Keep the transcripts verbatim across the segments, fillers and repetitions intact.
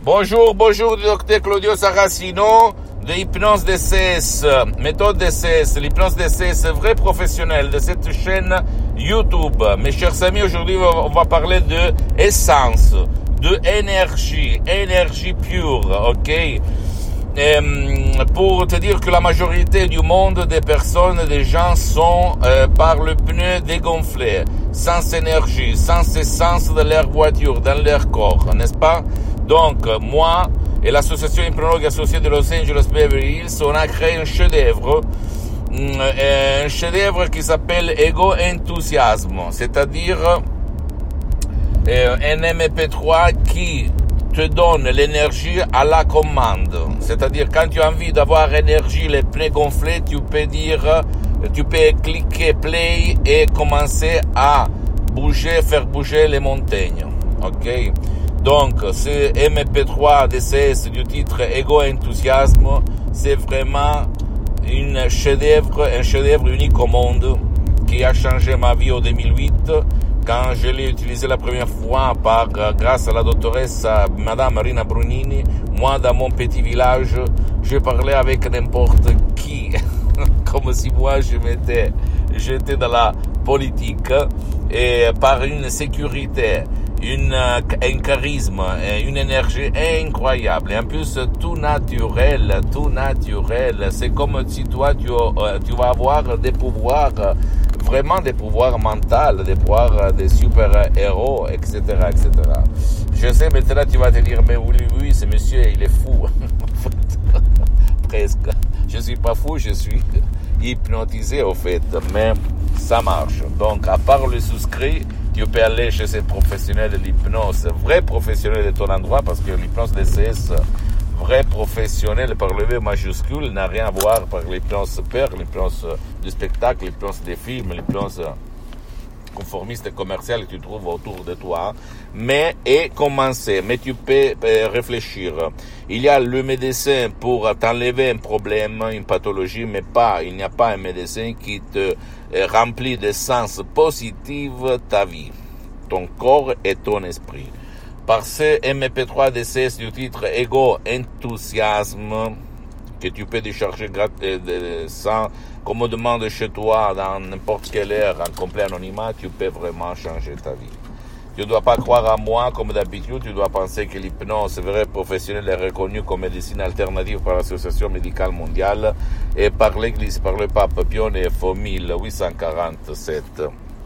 Bonjour, bonjour, docteur Claudio Saracino de Hypnose D C S, méthode D C S, l'hypnose D C S, vrai professionnel de cette chaîne YouTube. Mes chers amis, aujourd'hui on va parler de essence, de énergie, énergie pure, ok? Et pour te dire que la majorité du monde des personnes, des gens sont euh, par le pneu dégonflé, sans énergie, sans essence de leur voiture, dans leur corps, n'est-ce pas? Donc, moi et l'association hypnologue associée de Los Angeles Beverly Hills, on a créé un chef-d'œuvre, un chef-d'œuvre qui s'appelle Ego Enthousiasme, c'est-à-dire euh, un M P trois qui te donne l'énergie à la commande. C'est-à-dire, quand tu as envie d'avoir énergie, les pneus gonflés, tu peux dire, tu peux cliquer play et commencer à bouger, faire bouger les montagnes. Ok? Donc, ce M P trois D C S du titre Ego Enthousiasme, c'est vraiment une chef-d'œuvre, un chef-d'œuvre unique au monde qui a changé ma vie en deux mille huit. Quand je l'ai utilisé la première fois par, grâce à la doctoresse Madame Marina Brunini, moi dans mon petit village, je parlais avec n'importe qui, comme si moi je m'étais, j'étais dans la politique, et par une sécurité, une, un charisme, une énergie incroyable, et en plus tout naturel, tout naturel. C'est comme si toi tu, tu vas avoir des pouvoirs, vraiment des pouvoirs mentaux, des pouvoirs des super-héros, et cetera, et cetera. Je sais, maintenant tu vas te dire, mais oui, oui, ce monsieur, il est fou. Presque. Je suis pas fou, je suis hypnotisé au fait, mais ça marche. Donc, à part le souscrit, tu peux aller chez ces professionnels de l'hypnose, vrai professionnel de ton endroit, parce que l'hypnose D C S, vrai professionnel par le V majuscule, n'a rien à voir par l'hypnose père, l'hypnose du spectacle, l'hypnose des films, l'hypnose conformiste et commerciale que tu trouves autour de toi, mais et commencer, mais tu peux euh, réfléchir. Il y a le médecin pour t'enlever un problème, une pathologie, mais pas, il n'y a pas un médecin qui te euh, remplit de sens positif ta vie, ton corps et ton esprit. Par ce M P trois D C S du titre Ego Enthousiasme, que tu peux décharger grat- euh, sans commodement de chez toi, dans n'importe quelle heure, en complet anonymat, tu peux vraiment changer ta vie. Tu ne dois pas croire à moi comme d'habitude, tu dois penser que l'hypnose vrai professionnel est reconnue comme médecine alternative par l'Association médicale mondiale et par l'Église, par le pape Pie neuf en dix-huit cent quarante-sept.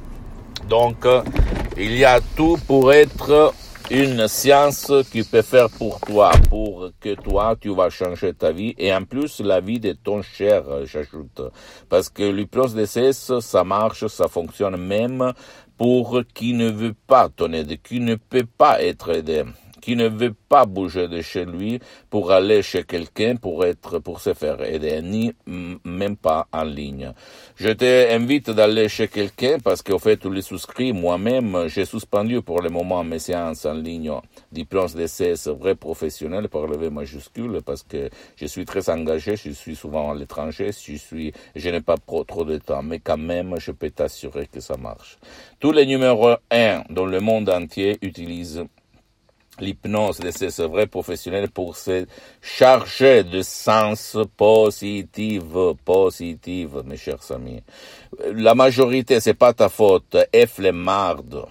Donc, il y a tout pour être une science qui peut faire pour toi, pour que toi, tu vas changer ta vie, et en plus, la vie de ton cher, j'ajoute. Parce que l'hypnose D C S, ça marche, ça fonctionne même pour qui ne veut pas ton aide, qui ne peut pas être aidé, qui ne veut pas bouger de chez lui pour aller chez quelqu'un pour être, pour se faire aider, ni même pas en ligne. Je t'invite d'aller chez quelqu'un parce qu'au fait, tu les souscris. Moi-même, j'ai suspendu pour le moment mes séances en ligne d'hypnose D C S vrai professionnel par le V majuscule parce que je suis très engagé, je suis souvent à l'étranger, je suis, je n'ai pas trop de temps, mais quand même, je peux t'assurer que ça marche. Tous les numéros un dans le monde entier utilisent l'hypnose D C S vrai professionnel pour se charger de sens positif, positif, mes chers amis. La majorité, c'est pas ta faute, est flemmarde.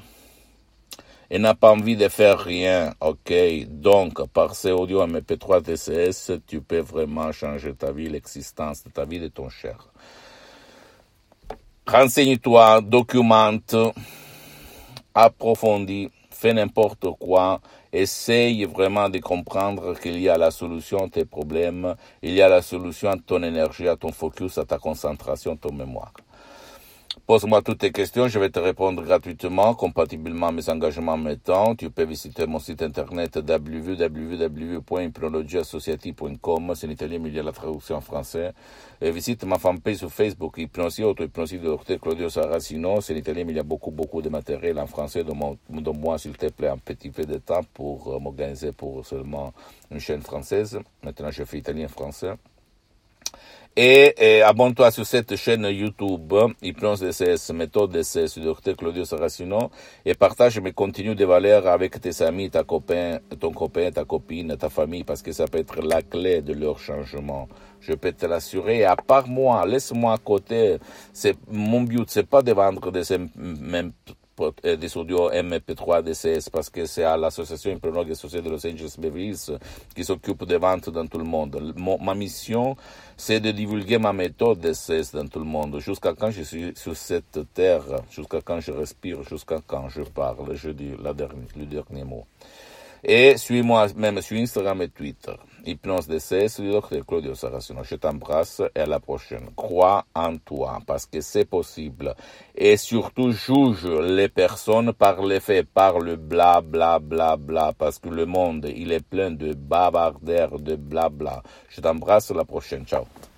Et n'a pas envie de faire rien, ok? Donc, par ces audio M P trois D C S, tu peux vraiment changer ta vie, l'existence de ta vie, de ton cher. Renseigne-toi, documente, approfondis, fais n'importe quoi, essaye vraiment de comprendre qu'il y a la solution à tes problèmes, il y a la solution à ton énergie, à ton focus, à ta concentration, à ton mémoire. Pose-moi toutes tes questions, je vais te répondre gratuitement, compatiblement à mes engagements mettants. Tu peux visiter mon site internet w w w point hypnologie associative point com, c'est en italien mais il y a la traduction en français. Et visite ma fanpage sur Facebook, Hypnosie, auto-hypnosie de docteur Claudio Saracino, c'est en italien mais il y a beaucoup, beaucoup de matériel en français. Donne-moi, s'il te plaît, un petit peu de temps pour m'organiser pour seulement une chaîne française. Maintenant, je fais italien-français. Et, et abonne-toi sur cette chaîne YouTube, Hypnose D C S, méthode D C S, du docteur Claudio Saracino, et partage mes contenus de valeur avec tes amis, ta copain, ton copain, ta copine, ta famille, parce que ça peut être la clé de leur changement. Je peux te l'assurer. À part moi, laisse-moi à côté. C'est, mon but, c'est pas de vendre des, même, des audios M P trois D C S parce que c'est à l'association Hypnologue associée de Los Angeles Beverly Hills qui s'occupe des ventes dans tout le monde. Mon, ma mission, c'est de divulguer ma méthode D C S dans tout le monde, jusqu'à quand je suis sur cette terre, jusqu'à quand je respire, jusqu'à quand je parle, je dis la dernière, le dernier mot. Et suis-moi même sur Instagram et Twitter. Hypnose D C S, le docteur Claudio Saracino. Je t'embrasse et à la prochaine. Crois en toi parce que c'est possible. Et surtout, juge les personnes par les faits, par le bla bla bla bla, parce que le monde, il est plein de bavardaires, de bla bla. Je t'embrasse à la prochaine. Ciao.